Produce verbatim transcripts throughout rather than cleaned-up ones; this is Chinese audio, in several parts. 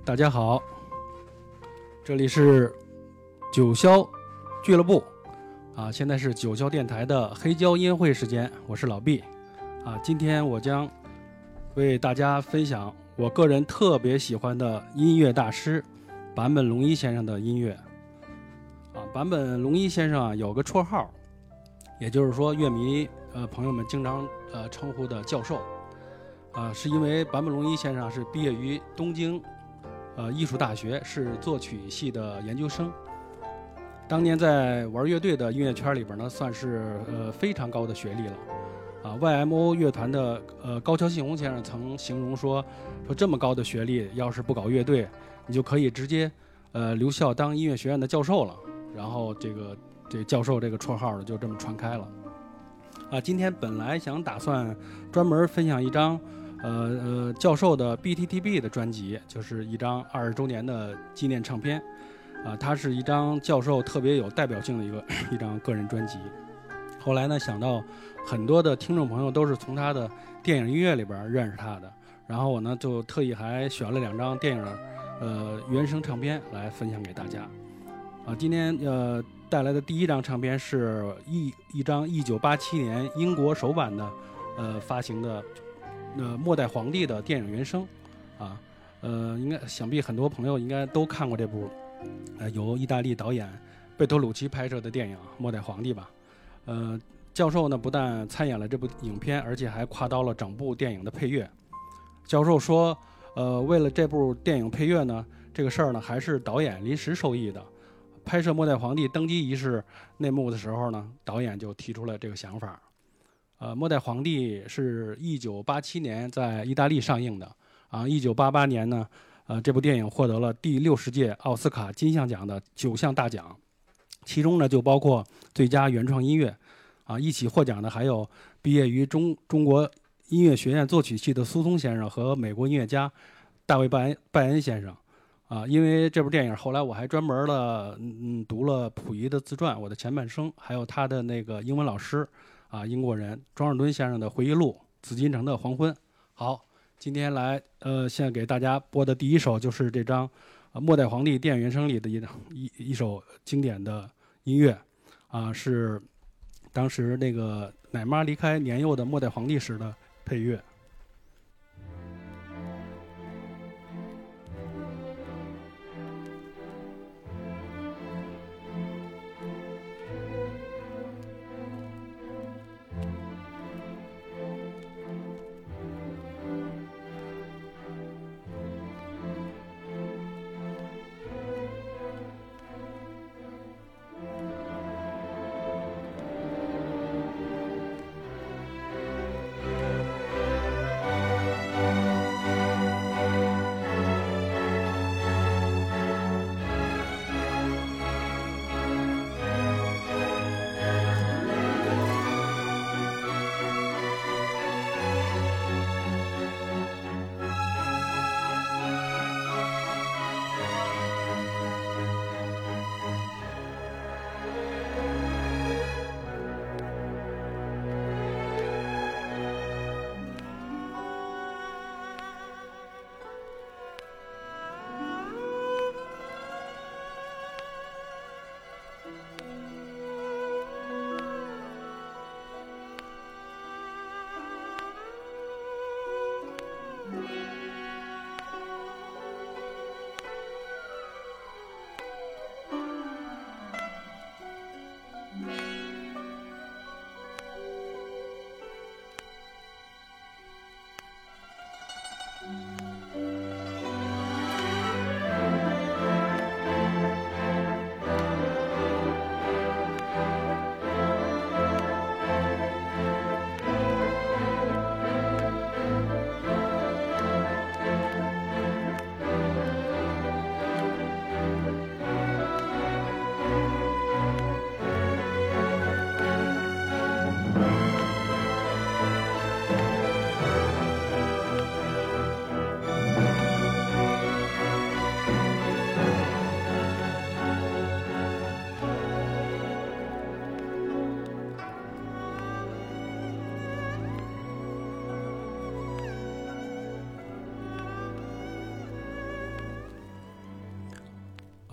大家好，这里是九霄俱乐部啊，现在是九霄电台的黑胶音乐会时间，我是老毕啊。今天我将为大家分享我个人特别喜欢的音乐大师坂本龙一先生的音乐啊。坂本龙一先生啊有个绰号，也就是说乐迷呃朋友们经常呃称呼的教授啊，是因为坂本龙一先生是毕业于东京呃，艺术大学，是作曲系的研究生。当年在玩乐队的音乐圈里边呢，算是呃非常高的学历了。啊 ，Y M O 乐团的呃高桥幸宏先生曾形容说，说这么高的学历，要是不搞乐队，你就可以直接呃留校当音乐学院的教授了。然后这个这教授这个绰号呢，就这么传开了。啊，今天本来想打算专门分享一张。呃呃，教授的 B T T B 的专辑，就是一张二十周年的纪念唱片，啊、呃，它是一张教授特别有代表性的一个一张个人专辑。后来呢，想到很多的听众朋友都是从他的电影音乐里边认识他的，然后我呢就特意还选了两张电影的呃原声唱片来分享给大家。啊，今天呃带来的第一张唱片是一一张一九八七年英国首版的呃发行的。呃，末代皇帝的电影原声，啊，呃，应该想必很多朋友应该都看过这部，呃，由意大利导演贝托鲁奇拍摄的电影《末代皇帝》吧。呃，教授呢不但参演了这部影片，而且还跨刀了整部电影的配乐。教授说，呃，为了这部电影配乐呢，这个事儿呢还是导演临时授意的。拍摄末代皇帝登基仪式内幕的时候呢，导演就提出了这个想法。呃，末代皇帝是一九八七年在意大利上映的啊。一九八八年呢，呃，这部电影获得了第六十届奥斯卡金像奖的九项大奖，其中呢就包括最佳原创音乐啊。一起获奖的还有毕业于中中国音乐学院作曲系的苏松先生和美国音乐家大卫拜恩拜恩先生啊。因为这部电影，后来我还专门了嗯读了溥仪的自传《我的前半生》，还有他的那个英文老师。啊，英国人庄士敦先生的回忆录《紫禁城的黄昏》。好，今天来呃，现在给大家播的第一首就是这张呃《末代皇帝》电影原声里的一一一首经典的音乐啊，是当时那个奶妈离开年幼的末代皇帝时的配乐。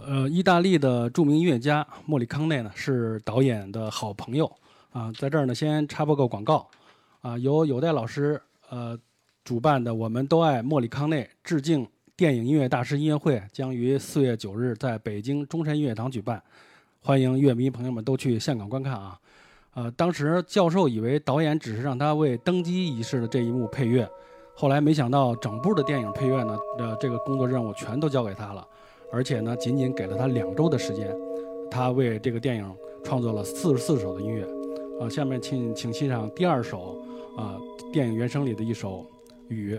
呃，意大利的著名音乐家莫里康内呢是导演的好朋友啊，在这儿呢先插播个广告啊，由有代老师呃主办的我们都爱莫里康内致敬电影音乐大师音乐会将于四月九日在北京中山音乐堂举办，欢迎乐迷朋友们都去现场观看啊。呃，当时教授以为导演只是让他为登基仪式的这一幕配乐，后来没想到整部的电影配乐呢，呃，这个工作任务全都交给他了，而且呢，仅仅给了他两周的时间，他为这个电影创作了四十四首的音乐。啊，下面请请欣赏第二首啊，电影原声里的一首《雨》。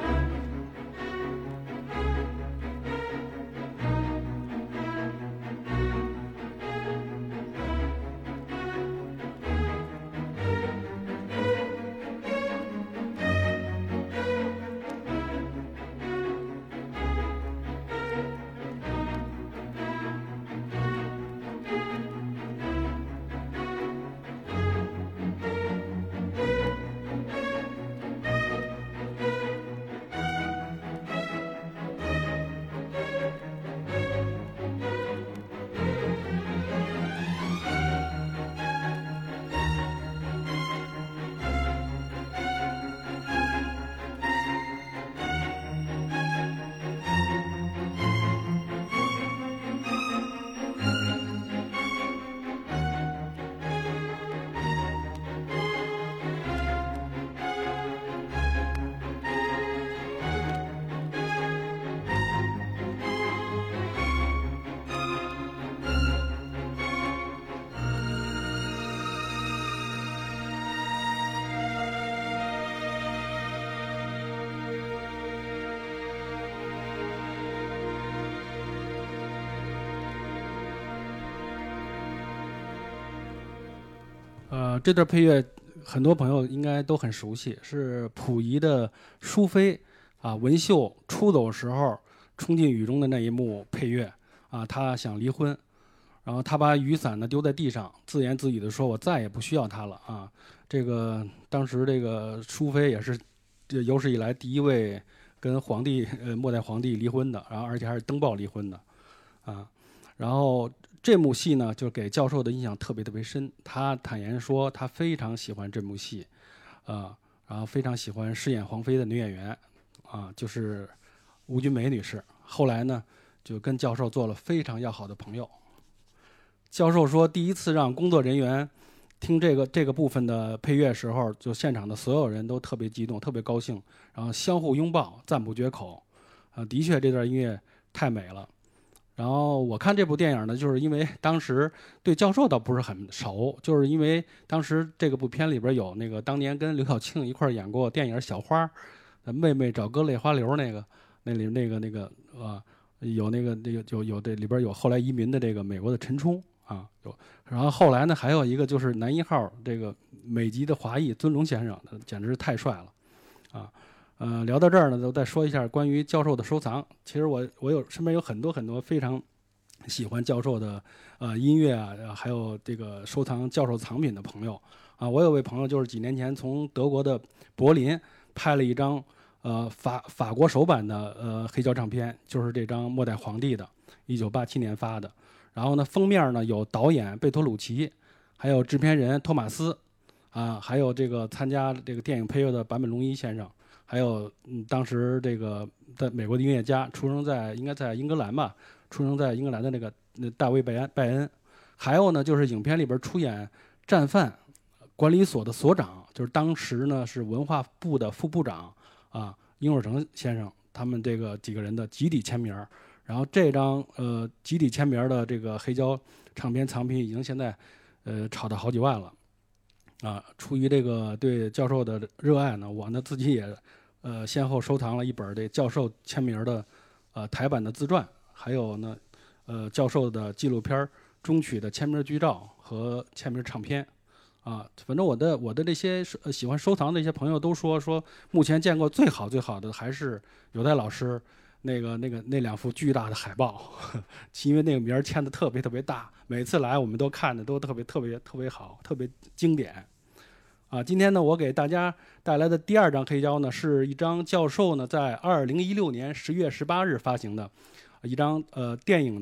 呃，这段配乐很多朋友应该都很熟悉，是溥仪的淑妃啊文秀出走时候冲进雨中的那一幕配乐啊，他想离婚，然后他把雨伞呢丢在地上，自言自语的说：“我再也不需要他了啊。”这个当时这个淑妃也是这有史以来第一位跟皇帝呃末代皇帝离婚的，然后而且还是登报离婚的啊，然后。这幕戏呢，就给教授的印象特别特别深。他坦言说，他非常喜欢这幕戏，呃，然后非常喜欢饰演皇妃的女演员，啊，就是吴君梅女士。后来呢，就跟教授做了非常要好的朋友。教授说，第一次让工作人员听这个这个部分的配乐时候，就现场的所有人都特别激动，特别高兴，然后相互拥抱，赞不绝口。啊，的确，这段音乐太美了。然后我看这部电影呢，就是因为当时对教授倒不是很熟，就是因为当时这个部片里边有那个当年跟刘晓庆一块演过电影《小花》，妹妹找哥泪花流那个，那里那个那个呃有那个那个有有这里边有后来移民的这个美国的陈冲啊有，然后后来呢还有一个就是男一号这个美籍的华裔尊龙先生，简直是太帅了啊。呃，聊到这儿呢，就再说一下关于教授的收藏。其实我我有身边有很多很多非常喜欢教授的呃音乐啊，还有这个收藏教授藏品的朋友啊。我有位朋友就是几年前从德国的柏林拍了一张呃法法国首版的呃黑胶唱片，就是这张末代皇帝的，一九八七年发的。然后呢，封面呢有导演贝托鲁奇，还有制片人托马斯啊，还有这个参加这个电影配乐的坂本龙一先生。还有，嗯，当时这个在美国的音乐家，出生在应该在英格兰吧，出生在英格兰的那个那大卫拜恩拜恩，还有呢，就是影片里边出演战犯管理所的所长，就是当时呢是文化部的副部长啊，殷若成先生，他们这个几个人的集体签名。然后这张呃集体签名的这个黑胶唱片藏品已经现在呃炒到好几万了啊。出于这个对教授的热爱呢，我呢自己也。呃，先后收藏了一本这教授签名的，呃，台版的自传，还有呢，呃，教授的纪录片中曲的签名剧照和签名唱片，啊，反正我的我的这些呃喜欢收藏的一些朋友都说说，目前见过最好最好的还是有代老师那个那个那两幅巨大的海报，呵呵因为那个名签的特别特别大，每次来我们都看的都特别特别特别好，特别经典。啊，今天呢，我给大家带来的第二张黑胶呢，是一张教授呢在二零一六年十月十八日发行的，一张呃电影的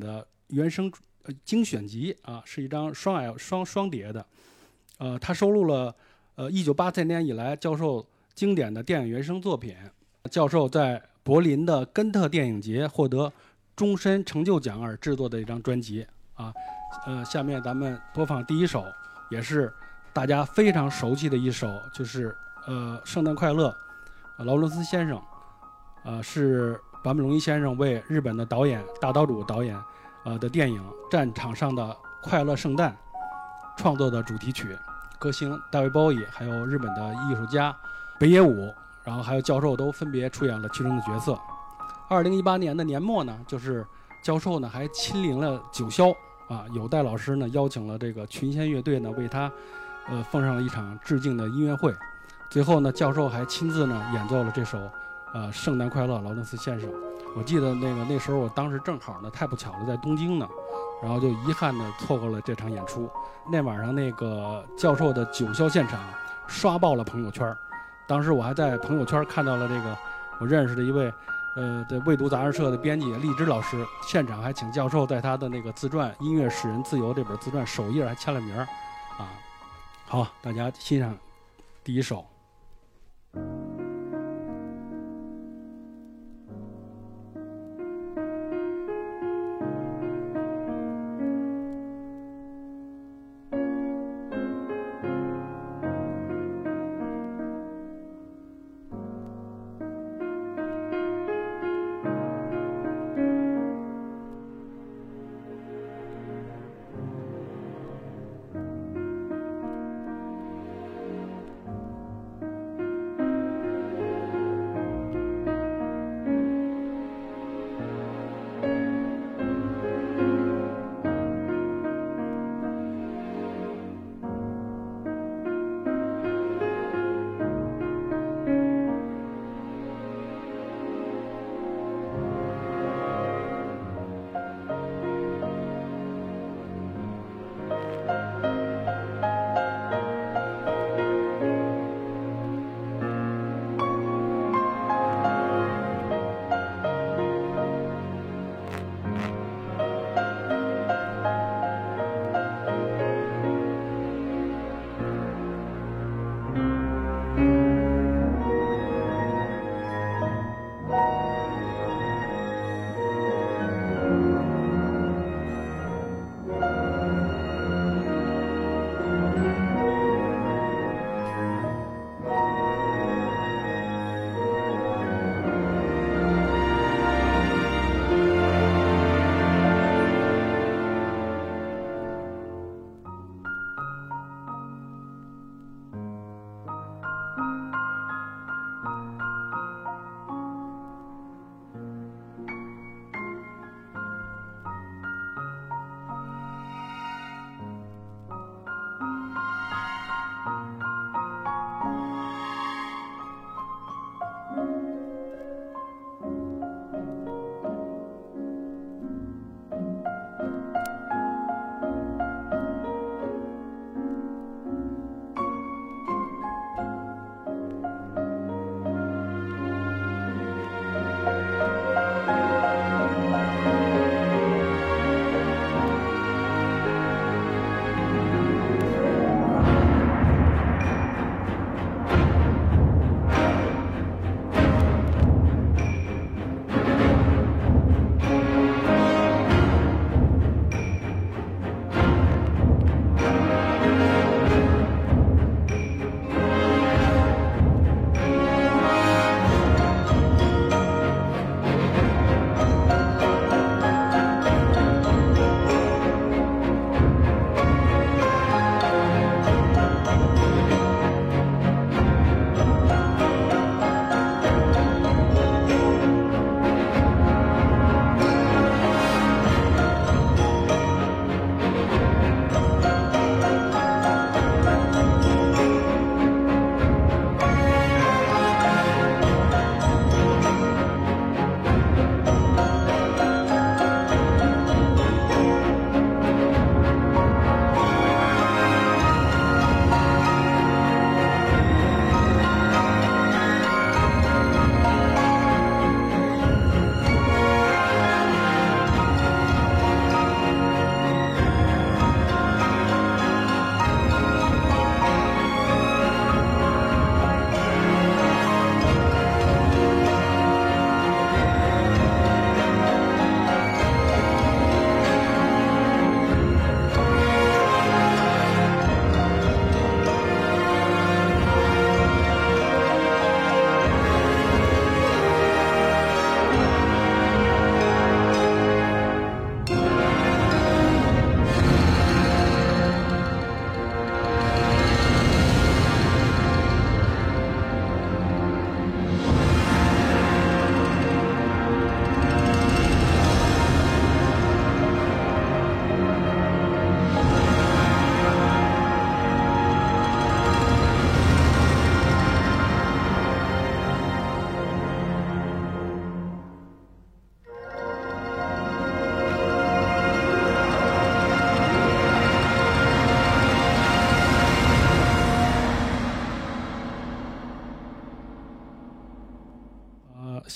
原声呃精选集啊，是一张双 L 双双碟的，呃，它收录了呃一九八三年以来教授经典的电影原声作品。教授在柏林的根特电影节获得终身成就奖而制作的一张专辑啊，呃，下面咱们播放第一首，也是大家非常熟悉的一首，就是呃《圣诞快乐》，劳伦斯先生，呃是坂本龙一先生为日本的导演大岛渚导演呃的电影《战场上的快乐圣诞》创作的主题曲，歌星大卫鲍伊还有日本的艺术家北野武，然后还有教授都分别出演了其中的角色。二零一八年的年末呢，就是教授呢还亲临了九霄啊，有代老师呢邀请了这个群仙乐队呢为他呃奉上了一场致敬的音乐会。最后呢，教授还亲自呢演奏了这首呃《圣诞快乐》劳伦斯先生。我记得那个那时候我当时正好呢太不巧了在东京呢，然后就遗憾的错过了这场演出。那晚上那个教授的九霄现场刷爆了朋友圈，当时我还在朋友圈看到了这个我认识的一位呃的未读杂志社的编辑荔枝老师，现场还请教授在他的那个自传《音乐使人自由》这本自传首页还签了名啊。好，大家欣赏第一首。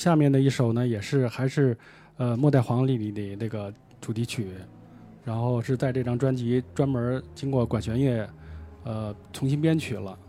下面的一首呢，也是还是呃《末代皇帝》里的那个主题曲，然后是在这张专辑专门经过管弦乐呃重新编曲了。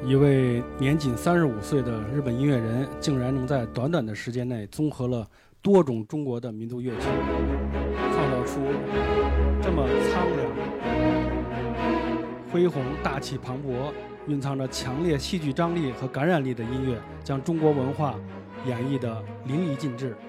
一位年仅三十五岁的日本音乐人，竟然能在短短的时间内综合了多种中国的民族乐器，创造出这么苍凉、恢宏、大气磅礴、蕴藏着强烈戏剧张力和感染力的音乐，将中国文化演绎得淋漓尽致。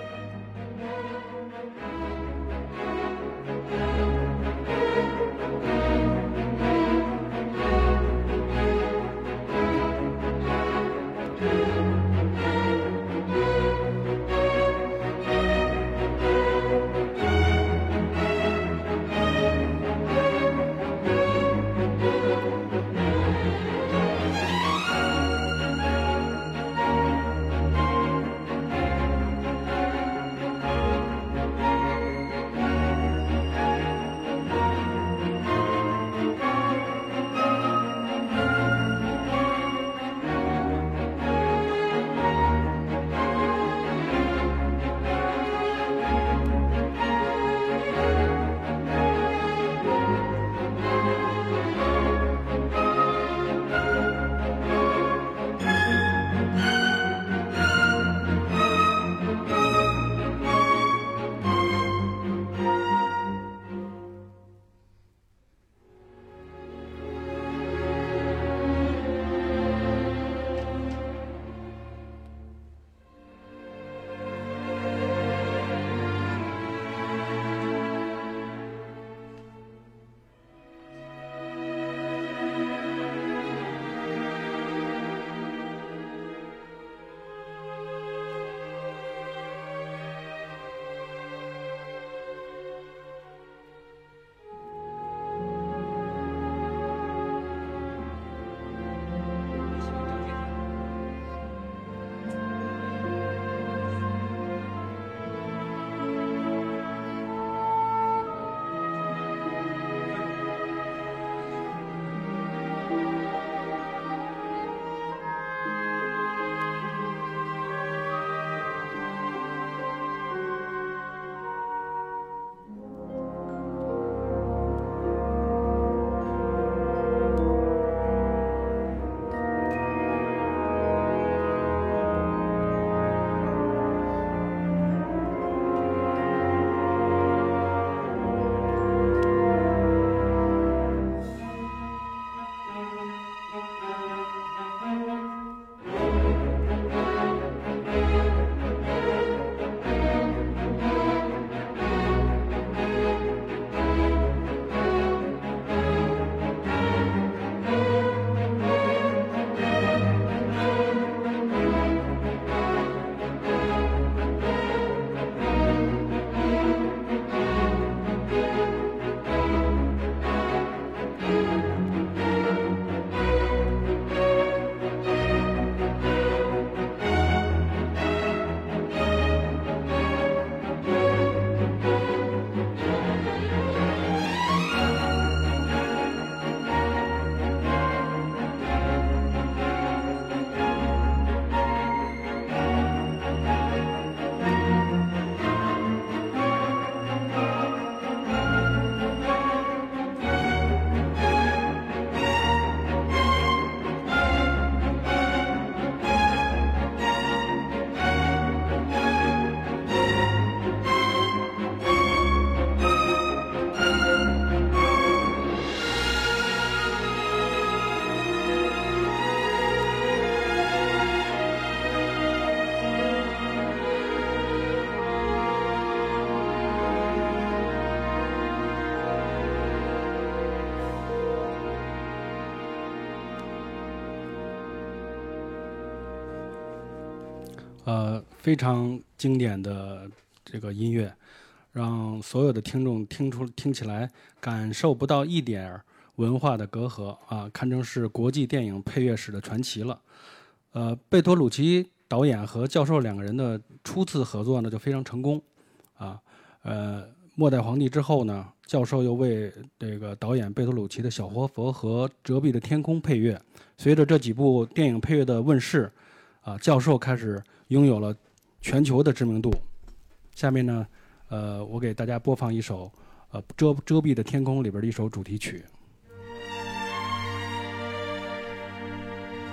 呃，非常经典的这个音乐，让所有的听众听出听起来感受不到一点文化的隔阂啊，堪称是国际电影配乐史的传奇了。呃，贝托鲁奇导演和教授两个人的初次合作呢就非常成功啊。呃，末代皇帝之后呢，教授又为这个导演贝托鲁奇的小活佛和折臂的天空配乐。随着这几部电影配乐的问世，啊，教授开始拥有了全球的知名度。下面呢，呃，我给大家播放一首呃遮遮蔽的天空里边的一首主题曲。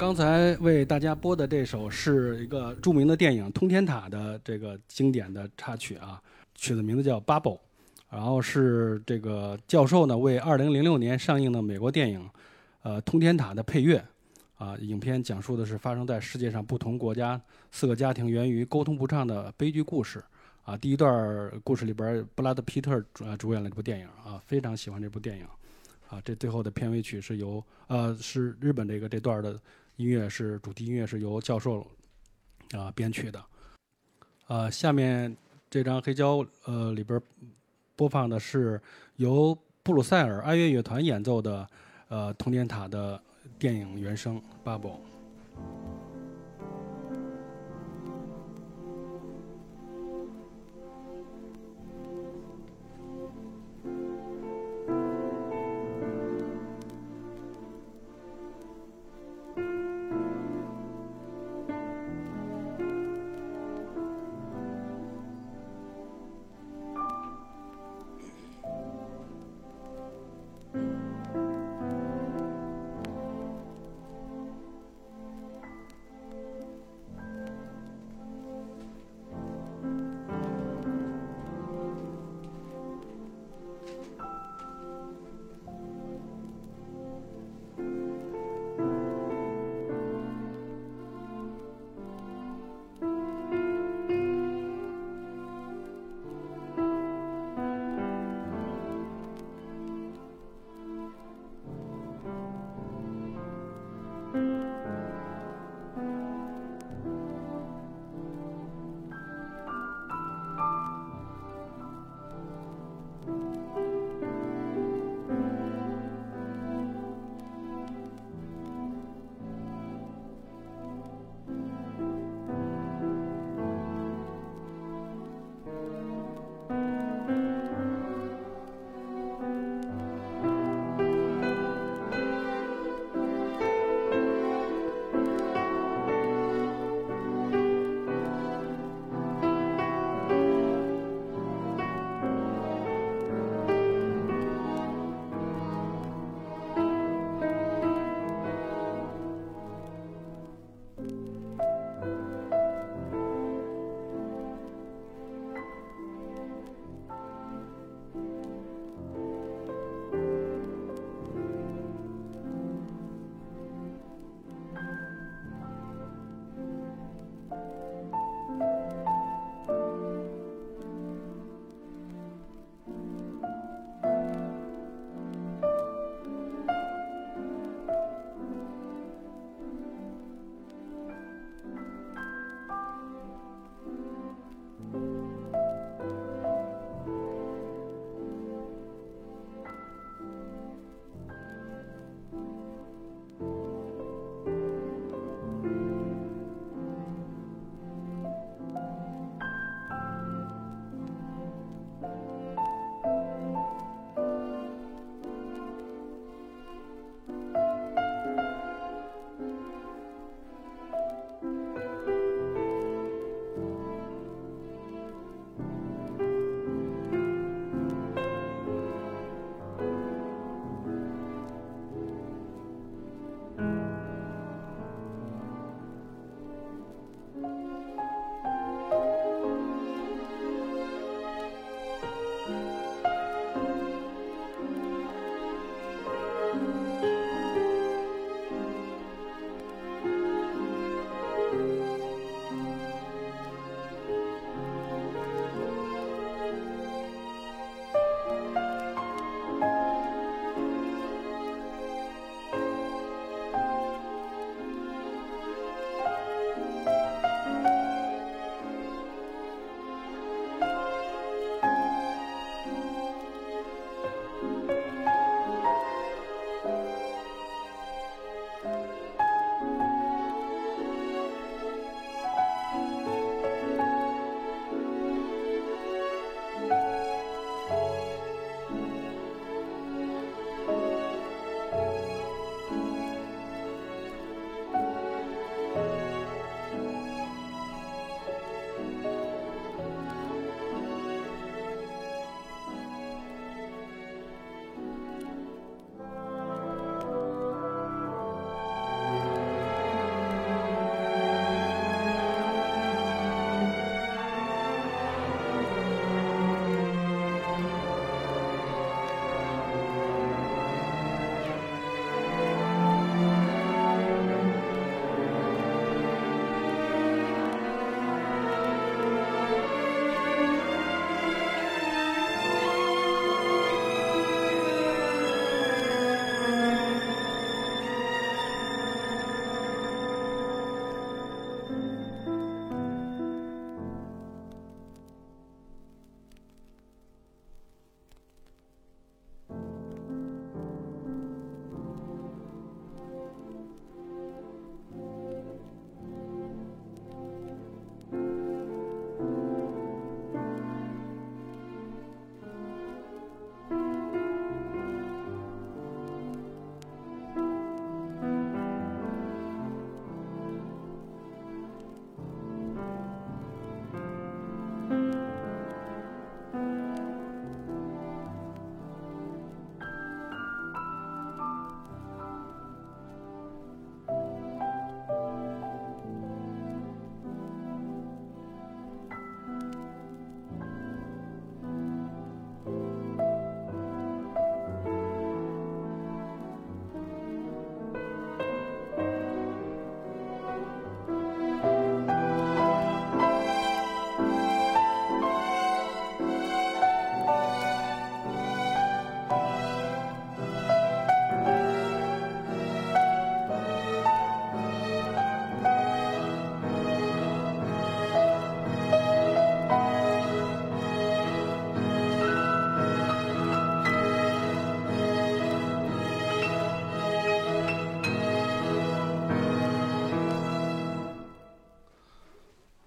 刚才为大家播的这首是一个著名的电影《通天塔》的这个经典的插曲啊，曲子名字叫《Bubble》，然后是这个教授呢为二零零六年上映的美国电影呃《通天塔》的配乐啊。影片讲述的是发生在世界上不同国家四个家庭源于沟通不畅的悲剧故事啊。第一段故事里边，布拉德皮特主主演了这部电影啊，非常喜欢这部电影啊。这最后的片尾曲是由呃是日本这个这段的音乐是主题音乐是由教授啊编曲的。呃，下面这张黑胶呃里边播放的是由布鲁塞尔爱乐乐团演奏的呃通天塔的电影原声《Bubble》。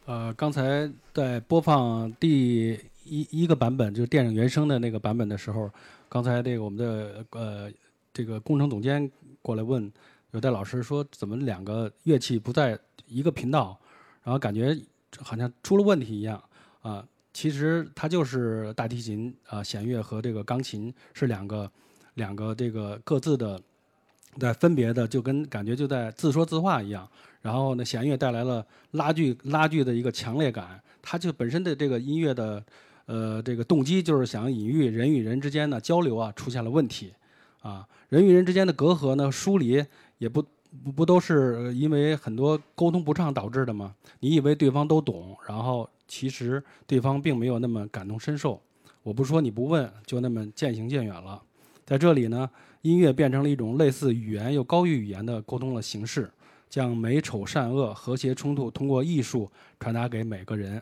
呃，刚才在播放第一一个版本，就是电影原声的那个版本的时候，刚才这个我们的呃这个工程总监过来问有戴老师说，怎么两个乐器不在一个频道，然后感觉好像出了问题一样啊。其实它就是大提琴啊、弦乐和这个钢琴是两个两个这个各自的在分别的，就跟感觉就在自说自话一样。然后呢，弦乐带来了拉锯拉锯的一个强烈感，它就本身的这个音乐的呃这个动机就是想隐喻人与人之间的交流啊出现了问题，啊，人与人之间的隔阂呢疏离也不不不都是因为很多沟通不畅导致的吗？你以为对方都懂，然后其实对方并没有那么感同身受。我不说你不问，就那么渐行渐远了。在这里呢，音乐变成了一种类似语言又高于语言的沟通的形式。将美丑善恶和谐冲突通过艺术传达给每个人。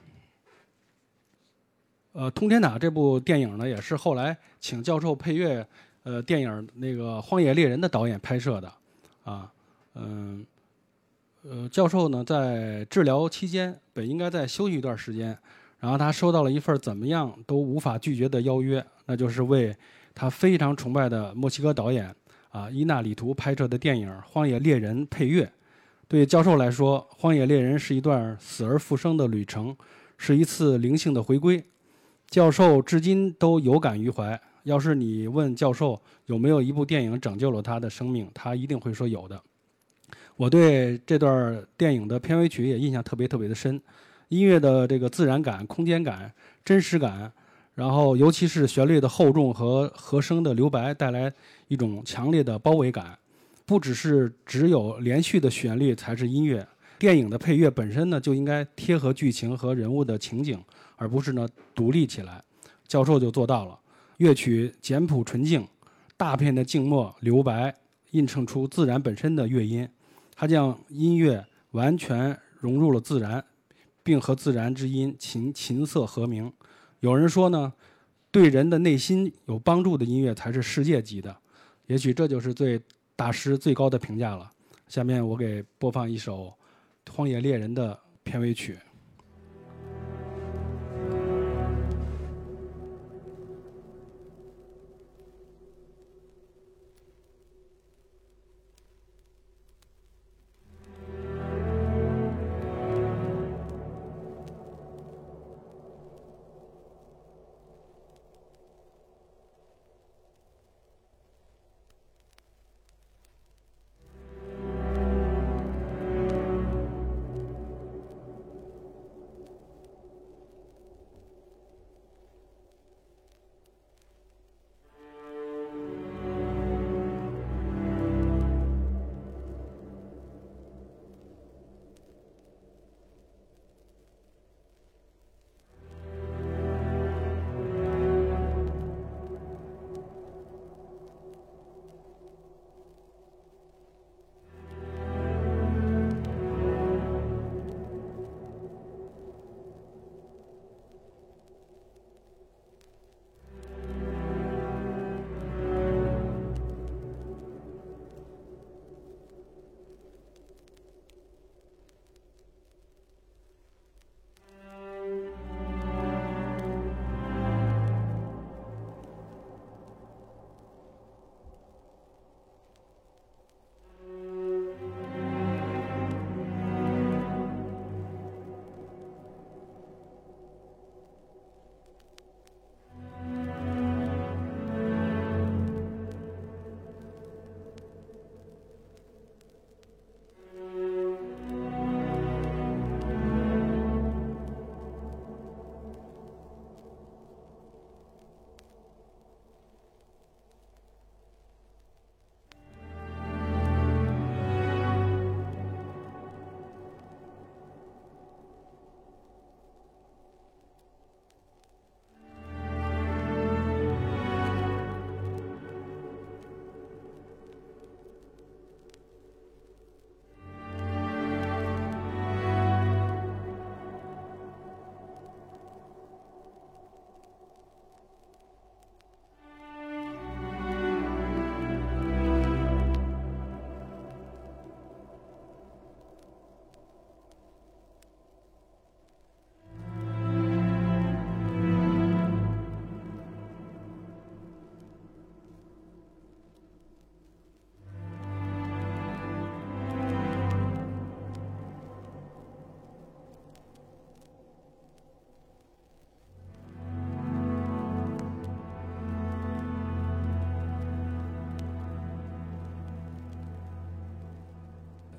呃，《通天塔》这部电影呢，也是后来请教授配乐，呃，电影那个《荒野猎人》的导演拍摄的，啊，嗯，呃，教授呢在治疗期间本应该再休息一段时间，然后他收到了一份怎么样都无法拒绝的邀约，那就是为他非常崇拜的墨西哥导演啊伊纳里图拍摄的电影《荒野猎人》配乐。对教授来说，《荒野猎人》是一段死而复生的旅程，是一次灵性的回归。教授至今都有感于怀。要是你问教授有没有一部电影拯救了他的生命，他一定会说有的。我对这段电影的片尾曲也印象特别特别的深，音乐的这个自然感、空间感、真实感，然后尤其是旋律的厚重和和声的留白，带来一种强烈的包围感。不只是只有连续的旋律才是音乐，电影的配乐本身呢就应该贴合剧情和人物的情景，而不是呢独立起来。教授就做到了，乐曲简朴纯净，大片的静默留白，映衬出自然本身的乐音。它将音乐完全融入了自然，并和自然之音琴琴瑟和鸣。有人说呢，对人的内心有帮助的音乐才是世界级的，也许这就是最大师最高的评价了。下面我给播放一首《荒野猎人》的片尾曲。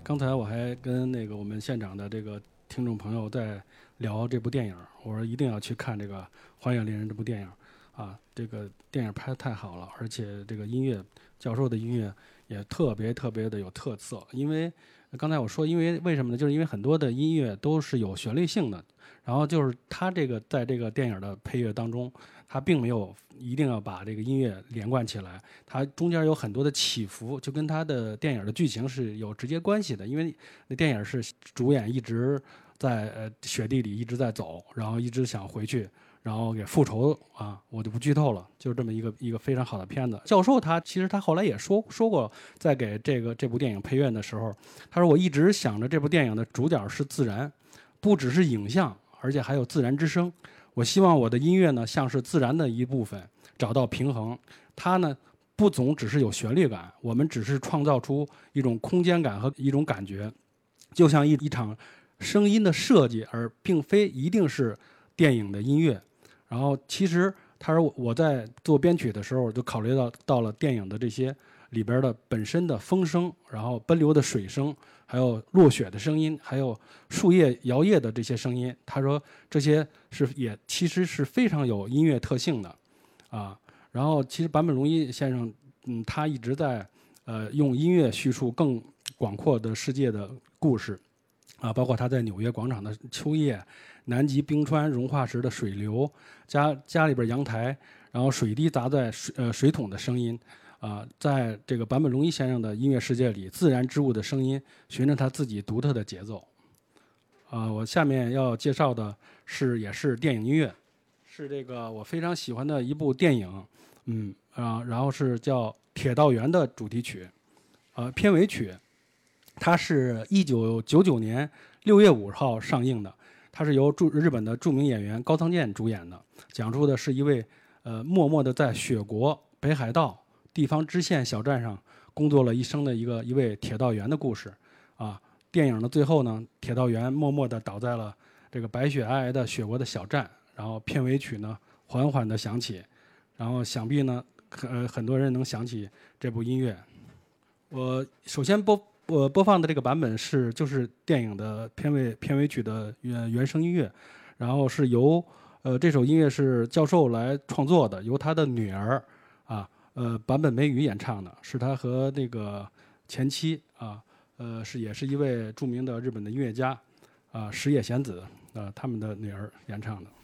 刚才我还跟那个我们现场的这个听众朋友在聊这部电影，我说一定要去看这个《荒野猎人》这部电影啊，这个电影拍得太好了，而且这个音乐，教授的音乐也特别特别的有特色。因为刚才我说，因为为什么呢？就是因为很多的音乐都是有旋律性的，然后就是他这个在这个电影的配乐当中，他并没有一定要把这个音乐连贯起来，它中间有很多的起伏，就跟他的电影的剧情是有直接关系的。因为那电影是主演一直在呃雪地里一直在走，然后一直想回去，然后给复仇啊，我就不剧透了，就是这么一个一个非常好的片子。教授他其实他后来也说说过，在给这个这部电影配乐的时候，他说我一直想着这部电影的主角是自然，不只是影像，而且还有自然之声。我希望我的音乐呢，像是自然的一部分，找到平衡。它呢，不总只是有旋律感，我们只是创造出一种空间感和一种感觉，就像一一场声音的设计，而并非一定是电影的音乐。然后，其实他说我在做编曲的时候，就考虑到到了电影的这些里边的本身的风声，然后奔流的水声，还有落雪的声音，还有树叶摇曳的这些声音。他说这些是也其实是非常有音乐特性的，啊。然后其实坂本龙一先生，嗯，他一直在呃用音乐叙述更广阔的世界的故事，啊，包括他在纽约广场的秋叶，南极冰川融化时的水流，家家里边阳台，然后水滴砸在水呃水桶的声音。啊，在这个坂本龙一先生的音乐世界里，自然之物的声音循着他自己独特的节奏。啊，我下面要介绍的是也是电影音乐，是这个我非常喜欢的一部电影，嗯啊，然后是叫《铁道员》的主题曲，呃，片尾曲，它是一九九九年六月五号上映的，它是由著日本的著名演员高仓健主演的，讲述的是一位呃默默的在雪国北海道地方支线小站上工作了一生的一个一位铁道员的故事啊。电影的最后呢，铁道员默默地倒在了这个白雪皑皑的雪国的小站，然后片尾曲呢缓缓地响起，然后想必呢呃很多人能想起这部音乐。我首先播我播放的这个版本是就是电影的片尾片尾曲的原原声音乐，然后是由呃这首音乐是教授来创作的，由他的女儿啊。呃，坂本美雨演唱的，是他和那个前妻啊，呃，是也是一位著名的日本的音乐家啊，石野贤子啊，他们的女儿演唱的。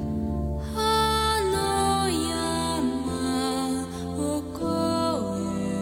あの山を越え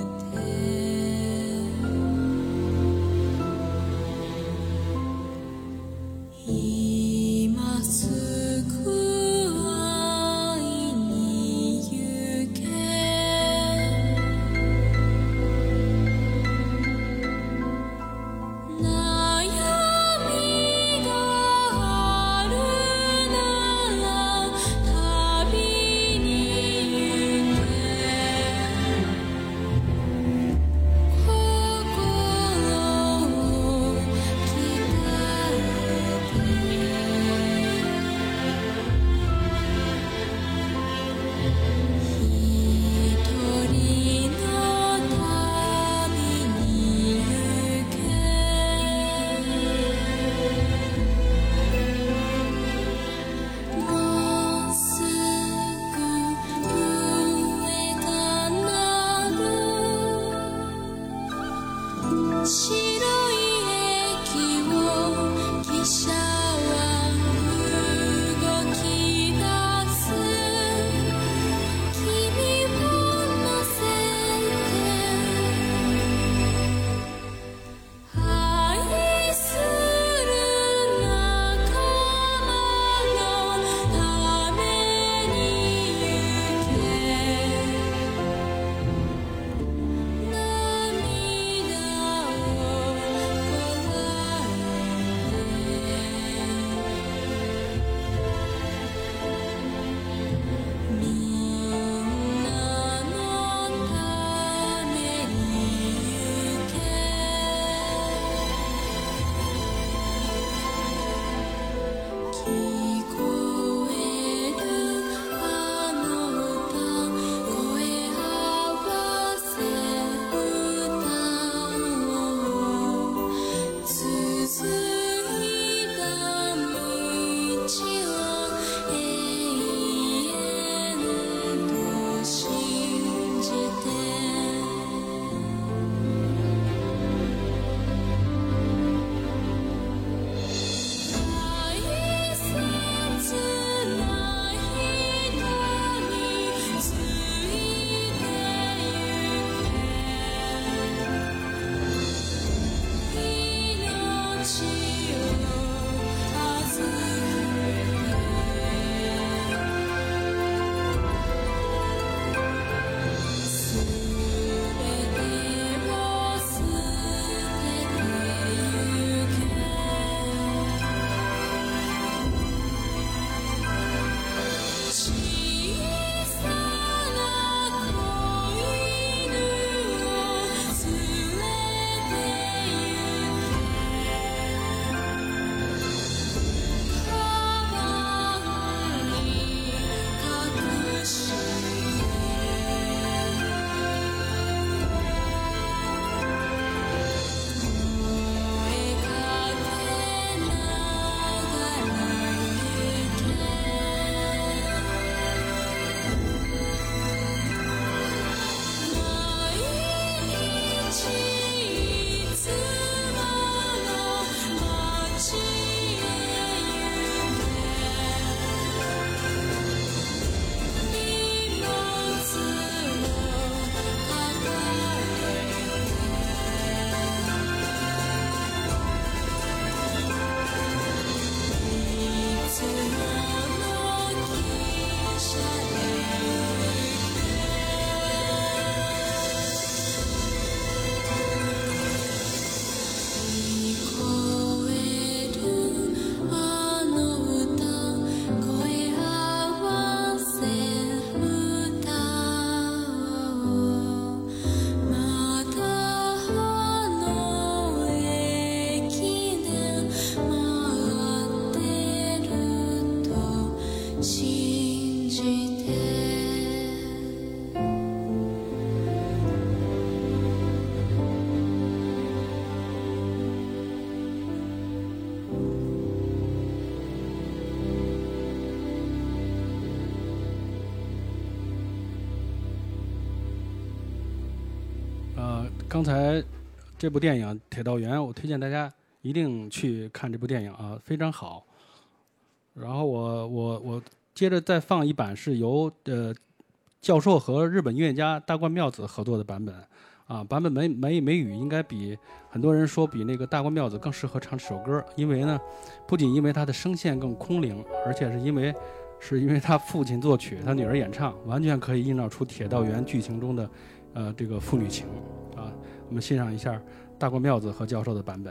呃，刚才这部电影《铁道员》，我推荐大家一定去看这部电影啊，非常好。然后我我我接着再放一版是由呃教授和日本音乐家大关妙子合作的版本啊，版本美美美语应该比很多人说比那个大关妙子更适合唱这首歌，因为呢，不仅因为他的声线更空灵，而且是因为是因为他父亲作曲，他女儿演唱，完全可以映照出铁道员剧情中的呃这个父女情啊。我们欣赏一下大关妙子和教授的版本。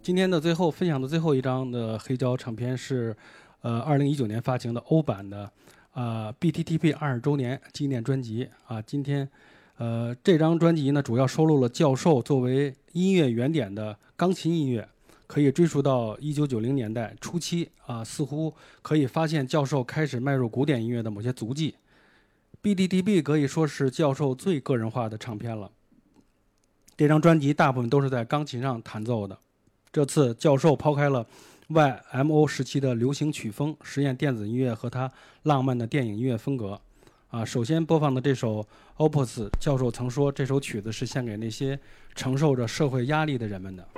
今天的最后分享的最后一张的黑胶唱片是，呃，二零一九年发行的欧版的，啊、呃、B T T P 二十周年纪念专辑啊。今天，呃，这张专辑呢，主要收录了教授作为音乐原点的钢琴音乐，可以追溯到一九九零年代初期啊，似乎可以发现教授开始迈入古典音乐的某些足迹。B T T P 可以说是教授最个人化的唱片了。这张专辑大部分都是在钢琴上弹奏的。这次教授抛开了 Y M O 时期的流行曲风，实验电子音乐和他浪漫的电影音乐风格。啊，首先播放的这首 Opus， 教授曾说这首曲子是献给那些承受着社会压力的人们的。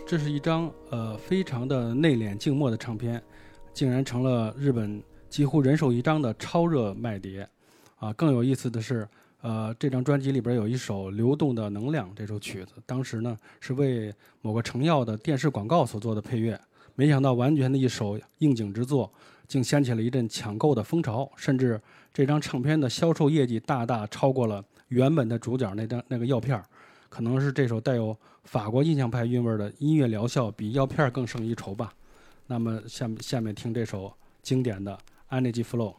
这是一张呃非常的内敛静默的唱片，竟然成了日本几乎人手一张的超热卖碟啊！更有意思的是，呃，这张专辑里边有一首《流动的能量》这首曲子，当时呢是为某个成药的电视广告所做的配乐，没想到完全的一首应景之作，竟掀起了一阵抢购的风潮，甚至这张唱片的销售业绩大大超过了原本的主角那张那个药片，可能是这首带有法国印象派韵味的音乐疗效比药片更胜一筹吧。那么下面下面听这首经典的 Energy Flow。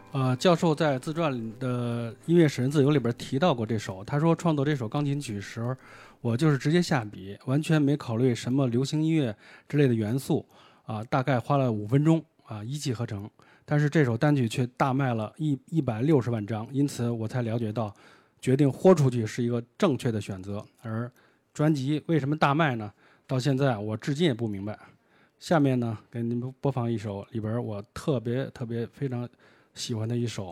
呃，教授在自传的《音乐使人自由》里边提到过这首，他说创作这首钢琴曲时，我就是直接下笔，完全没考虑什么流行音乐之类的元素，啊，大概花了五分钟啊，一气呵成。但是这首单曲却大卖了一一百六十万张，因此我才了解到，决定豁出去是一个正确的选择。而专辑为什么大卖呢？到现在我至今也不明白。下面呢，给你们播放一首里边我特别特别非常喜欢的一首。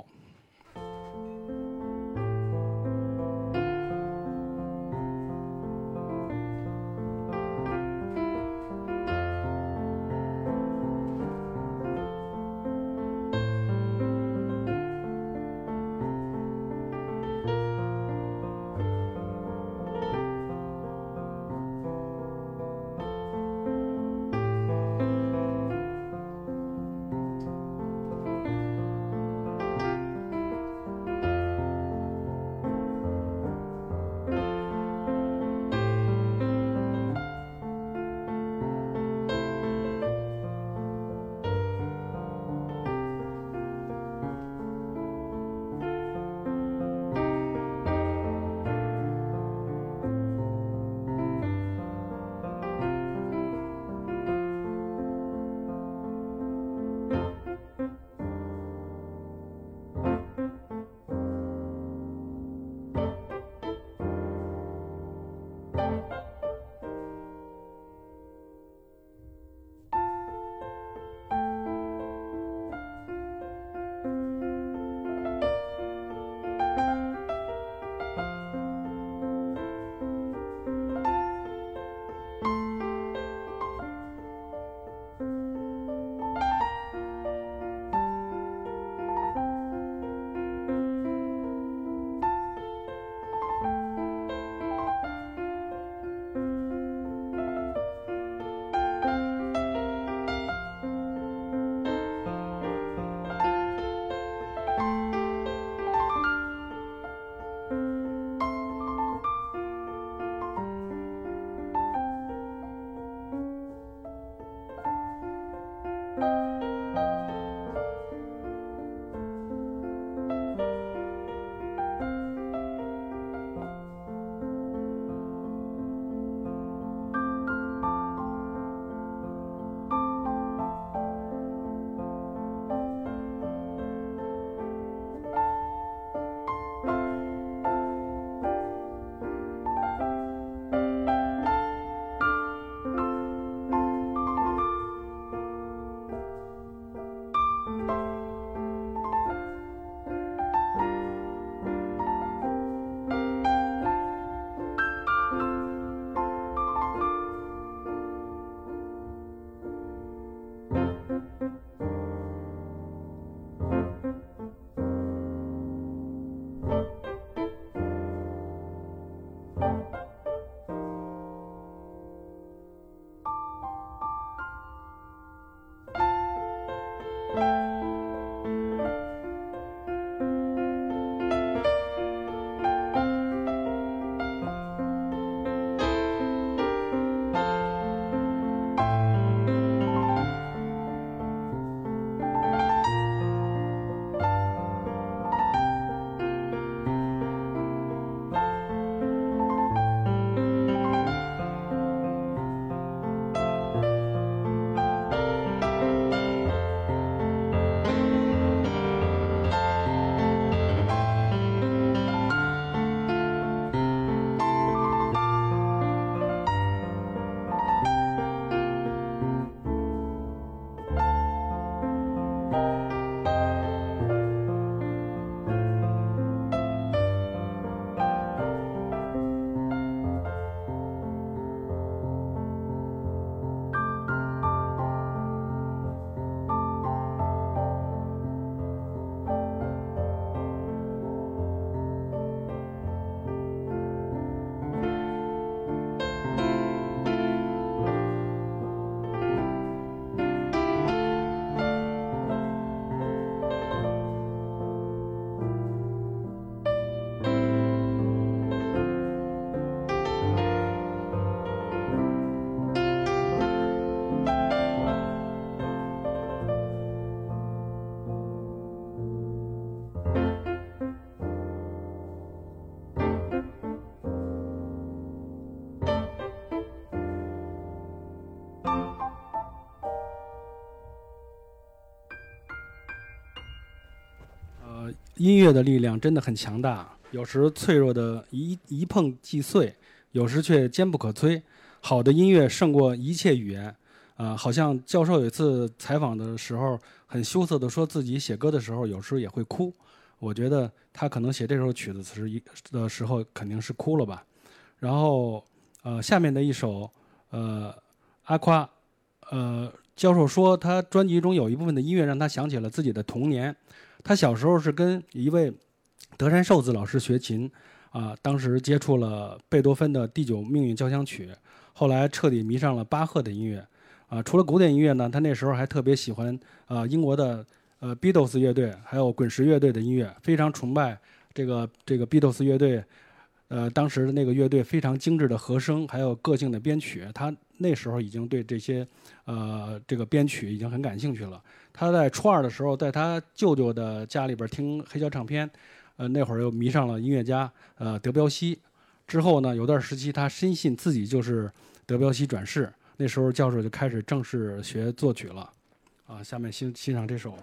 音乐的力量真的很强大，有时脆弱的一一碰即碎，有时却坚不可摧。好的音乐胜过一切语言。啊、呃，好像教授有一次采访的时候，很羞涩地说自己写歌的时候有时候也会哭。我觉得他可能写这首曲子时的时候肯定是哭了吧。然后，呃，下面的一首，呃，阿夸，呃，教授说他专辑中有一部分的音乐让他想起了自己的童年。他小时候是跟一位德山寿子老师学琴，啊、呃，当时接触了贝多芬的第九命运交响曲，后来彻底迷上了巴赫的音乐。啊、呃，除了古典音乐呢，他那时候还特别喜欢啊、呃、英国的呃 Beatles 乐队，还有滚石乐队的音乐，非常崇拜这个这个 Beatles 乐队。呃，当时的那个乐队非常精致的和声，还有个性的编曲，他那时候已经对这些呃这个编曲已经很感兴趣了。他在初二的时候，在他舅舅的家里边听黑胶唱片，呃，那会儿又迷上了音乐家呃德彪西。之后呢，有段时期他深信自己就是德彪西转世，那时候教授就开始正式学作曲了。啊，下面欣欣赏这首。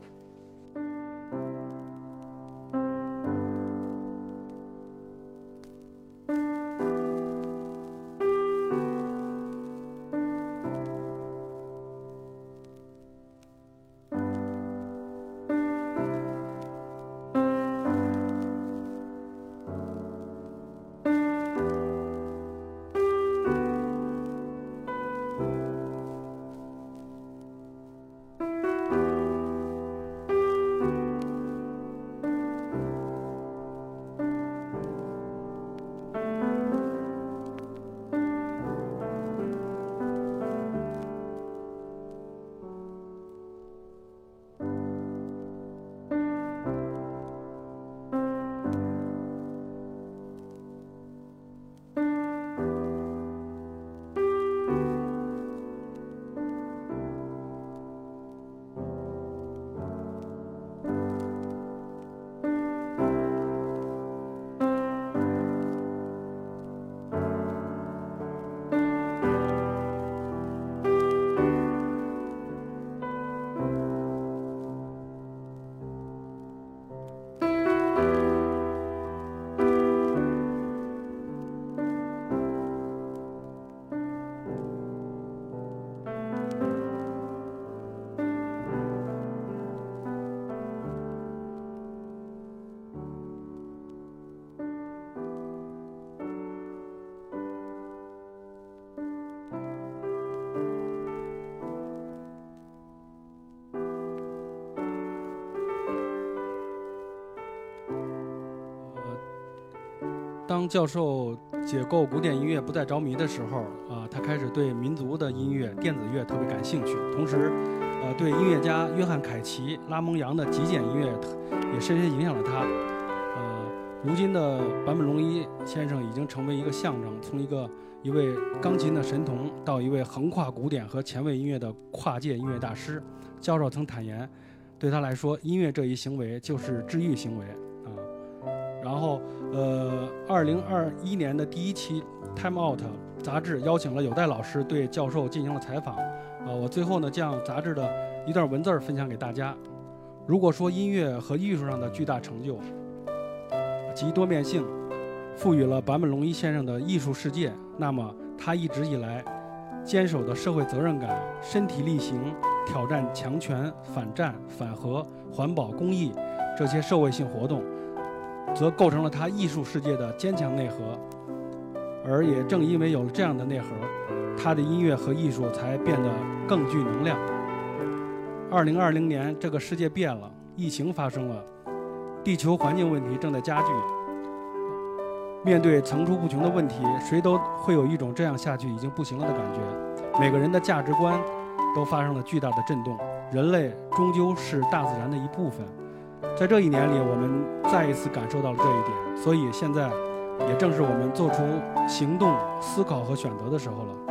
当教授解构古典音乐不再着迷的时候，啊、呃，他开始对民族的音乐、电子乐特别感兴趣，同时，呃，对音乐家约翰凯奇、拉蒙扬的极简音乐也深深影响了他。呃，如今的坂本龙一先生已经成为一个象征，从一个一位钢琴的神童到一位横跨古典和前卫音乐的跨界音乐大师。教授曾坦言，对他来说，音乐这一行为就是治愈行为啊。然后，呃，二零二一年的第一期《Time Out》杂志邀请了有代老师对教授进行了采访。呃，我最后呢将杂志的一段文字分享给大家。如果说音乐和艺术上的巨大成就及多面性赋予了坂本龙一先生的艺术世界，那么他一直以来坚守的社会责任感、身体力行、挑战强权、反战、反核、环保、公益这些社会性活动，则构成了他艺术世界的坚强内核。而也正因为有了这样的内核，他的音乐和艺术才变得更具能量。二零二零年，这个世界变了，疫情发生了，地球环境问题正在加剧。面对层出不穷的问题，谁都会有一种这样下去已经不行了的感觉。每个人的价值观都发生了巨大的震动。人类终究是大自然的一部分。在这一年里，我们再一次感受到了这一点，所以现在也正是我们做出行动、思考和选择的时候了。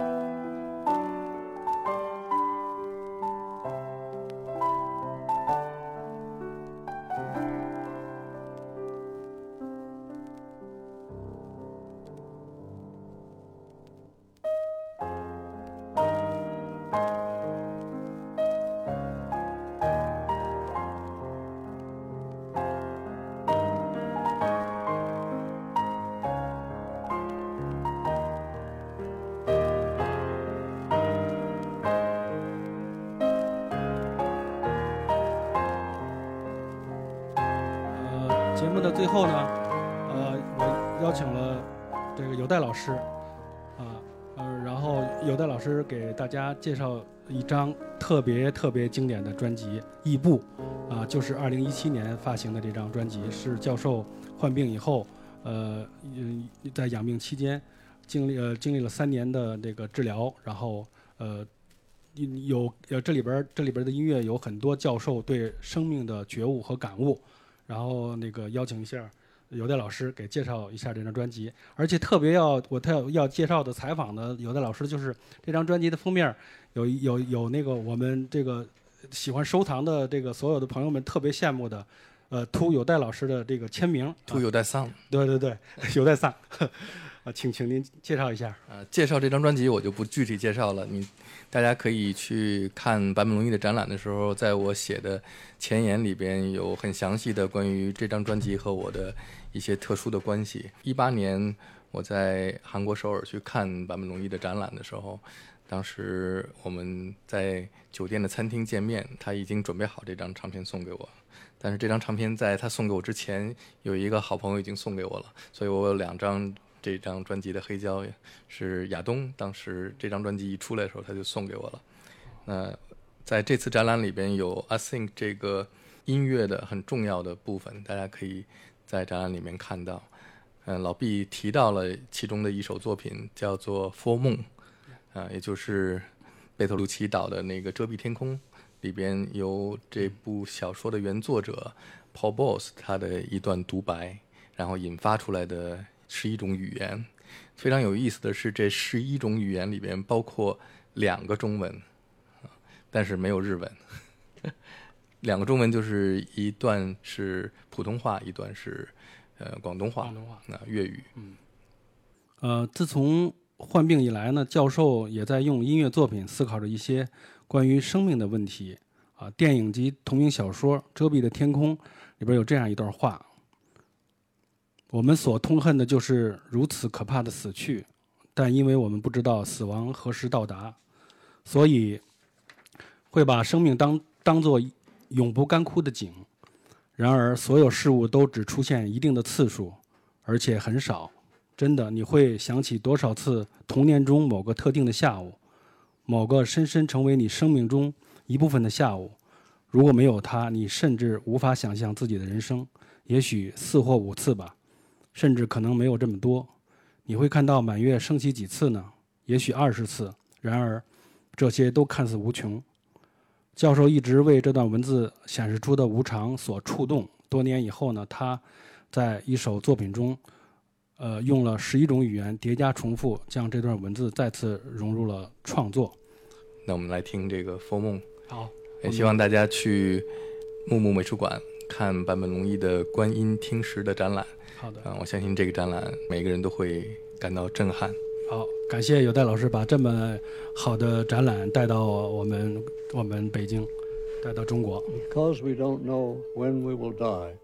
目的最后呢，呃，我邀请了这个有代老师，啊，呃，然后有代老师给大家介绍一张特别特别经典的专辑《异步》，啊，就是二零一七年发行的这张专辑，是教授患病以后，呃，在养病期间，经历呃经历了三年的这个治疗，然后呃。有呃，这里边这里边的音乐有很多教授对生命的觉悟和感悟，然后那个邀请一下有代老师给介绍一下这张专辑，而且特别要我特要介绍的采访的有代老师就是这张专辑的封面有有有那个我们这个喜欢收藏的这个所有的朋友们特别羡慕的，呃，秃有代老师的这个签名， 秃有代桑、 啊，对对对，有代桑。啊，请请您介绍一下。 呃，介绍这张专辑我就不具体介绍了，你大家可以去看坂本龙一的展览的时候，在我写的前言里边有很详细的关于这张专辑和我的一些特殊的关系。一八年我在韩国首尔去看坂本龙一的展览的时候，当时我们在酒店的餐厅见面，他已经准备好这张唱片送给我，但是这张唱片在他送给我之前，有一个好朋友已经送给我了，所以我有两张这张专辑的黑胶，是亚东当时这张专辑一出来的时候他就送给我了。那在这次展览里边有 I Think 这个音乐的很重要的部分，大家可以在展览里面看到。嗯，老毕提到了其中的一首作品叫做 For Moon， 啊，也就是贝托鲁奇导的那个遮蔽天空里边有这部小说的原作者 Paul Bowles 他的一段独白，然后引发出来的十一种语言。非常有意思的是，这十一种语言里边包括两个中文，但是没有日文。两个中文就是一段是普通话，一段是呃广东话， 广东话， 那粤语。 嗯，呃，自从患病以来呢，教授也在用音乐作品思考着一些关于生命的问题。啊，电影及同名小说《遮蔽的天空》里边有这样一段话。我们所痛恨的就是如此可怕的死去，但因为我们不知道死亡何时到达，所以会把生命当当作永不干枯的井。然而，所有事物都只出现一定的次数，而且很少。真的，你会想起多少次童年中某个特定的下午，某个深深成为你生命中一部分的下午。如果没有它，你甚至无法想象自己的人生，也许四或五次吧。甚至可能没有这么多。你会看到满月升起几次呢？也许二十次。然而，这些都看似无穷。教授一直为这段文字显示出的无常所触动。多年以后呢，他在一首作品中，呃，用了十一种语言叠加重复，将这段文字再次融入了创作。 那我们来听这个《For Moon》。 好， 也希望大家去木木美术馆看坂本龙一的《观音听石》的展览。 好的， 啊，我相信这个展览每个人都会感到震撼。 好，感谢有代老师把这么好的展览带到我们我们北京，带到中国。 Because we don't know when we will die,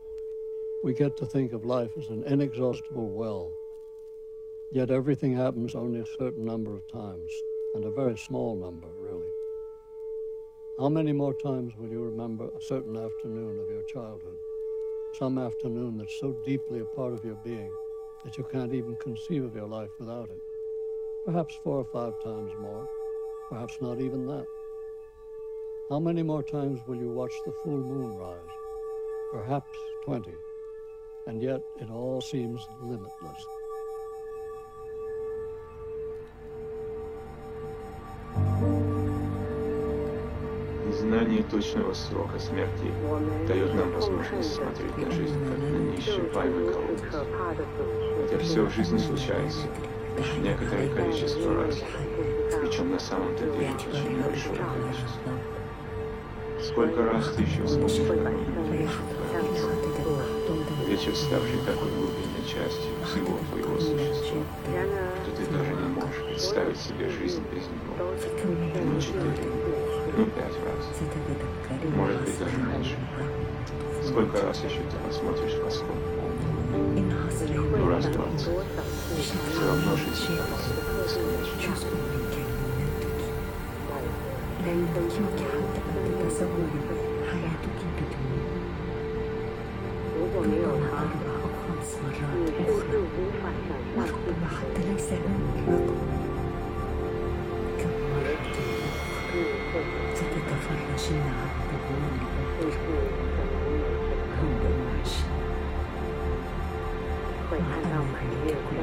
we get to think of life as an inexhaustible well. Yet everything happens only a certain number of times, and a very small number, really. How many more times will you remember a certain afternoon of your childhood?Some afternoon that's so deeply a part of your being that you can't even conceive of your life without it. Perhaps four or five times more, perhaps not even that. How many more times will you watch the full moon rise? Perhaps twenty. And yet it all seems limitless. Знание точного срока смерти дает нам возможность смотреть на жизнь как на неисчерпаемый колодец. Хотя все в жизни случается некоторое количество раз, причем на самом-то деле очень небольшое количество. Сколько раз ты еще вспомнишь подобное? Вечер, ставший такой глубинной частью всего твоего существа, что ты даже не можешь представить себе жизнь без него. Ну, четыре, ну, пять раз. Может быть, даже меньше. Сколько раз еще ты посмотришь в восход полный? Ну, раз двадцать. Все равно жизнь кажется бесконечной. 果没有他，你甚至无法想象自己的生活。会看到满月光，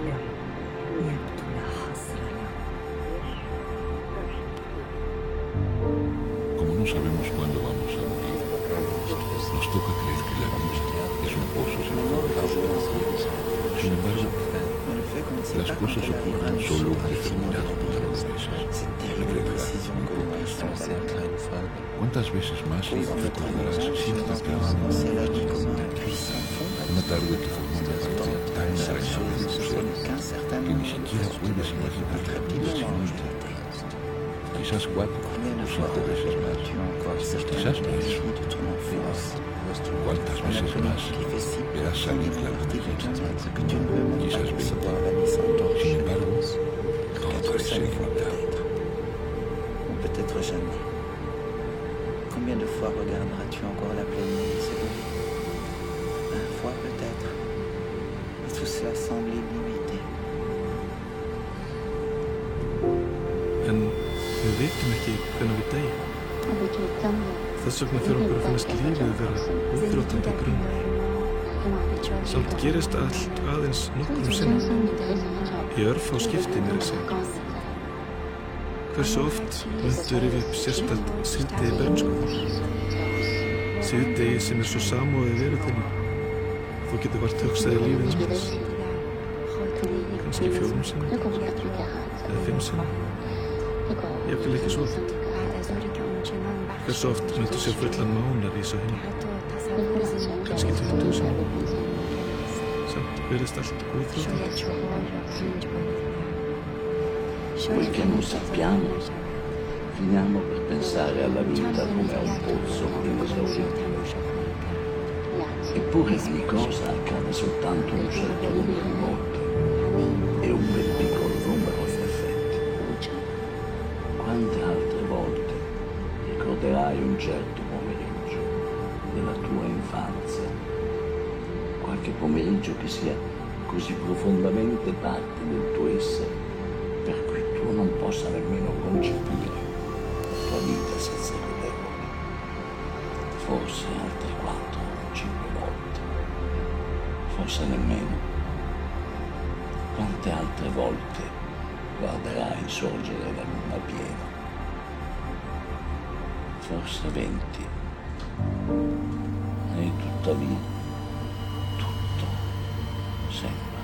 Como no sabemos cuándo vamos a morir, nos toca creer que la vida es un pozo sin fondo. Sin embargo, las cosas ocurren solo un determinado número de veces. En realidad, ¿cuántas veces más recordarás cierta trama una tarde que formó una parte tan entrañable de tu ser que ni siquiera puedes imaginar la vida sin ella? Quizás cuatro o cinco veces más, quizás más. ¿Cuántas veces más verás salir la luz de ella? Quizás veinte. Sin embargo, todo parece limitado. Ou peut-être jamais. Combien de fois regarderas-tu encore la pleine lune se lever? Vingt fois peut-être. Et tout cela semble illimité. En við vitum ekki hvenær við deyjum. Þess vegna fyrir okkur að finnast lífið vera útþrjótandi grunn. Samt gerist allt aðeins nokkrum sinnum. Í örfá skipti mér að segja. Hversu oft myndu rifja upp sérstætt síðdegi bernsku? Síðdegi sem er svo samofið veru þinni. Þú getur vart hugsaði lífið um þess. Kannski fjórum sinnum. Eða fimm sinnum. Ég vil ekki svo oft. Hversu oft myndu sjá fullan mánar í svo henni? Kannski tuttugu sinnum. Samt verðist allt útþrjótandi. Quel che non sappiamo, finiamo per pensare alla vita come a un pozzo inesaurito. Eppure ogni cosa accade soltanto un certo numero di volte e un ben piccolo numero di effetti. Quante altre volte ricorderai un certo pomeriggio della tua infanzia, qualche pomeriggio che sia così profondamente parte del tuo essere per cui tu non possa nemmeno concepire la tua vita senza vederlo. Forse altre quattro o cinque volte, forse nemmeno. Quante altre volte guarderai sorgere la luna piena? Forse venti. E tuttavia, tutto, sempre.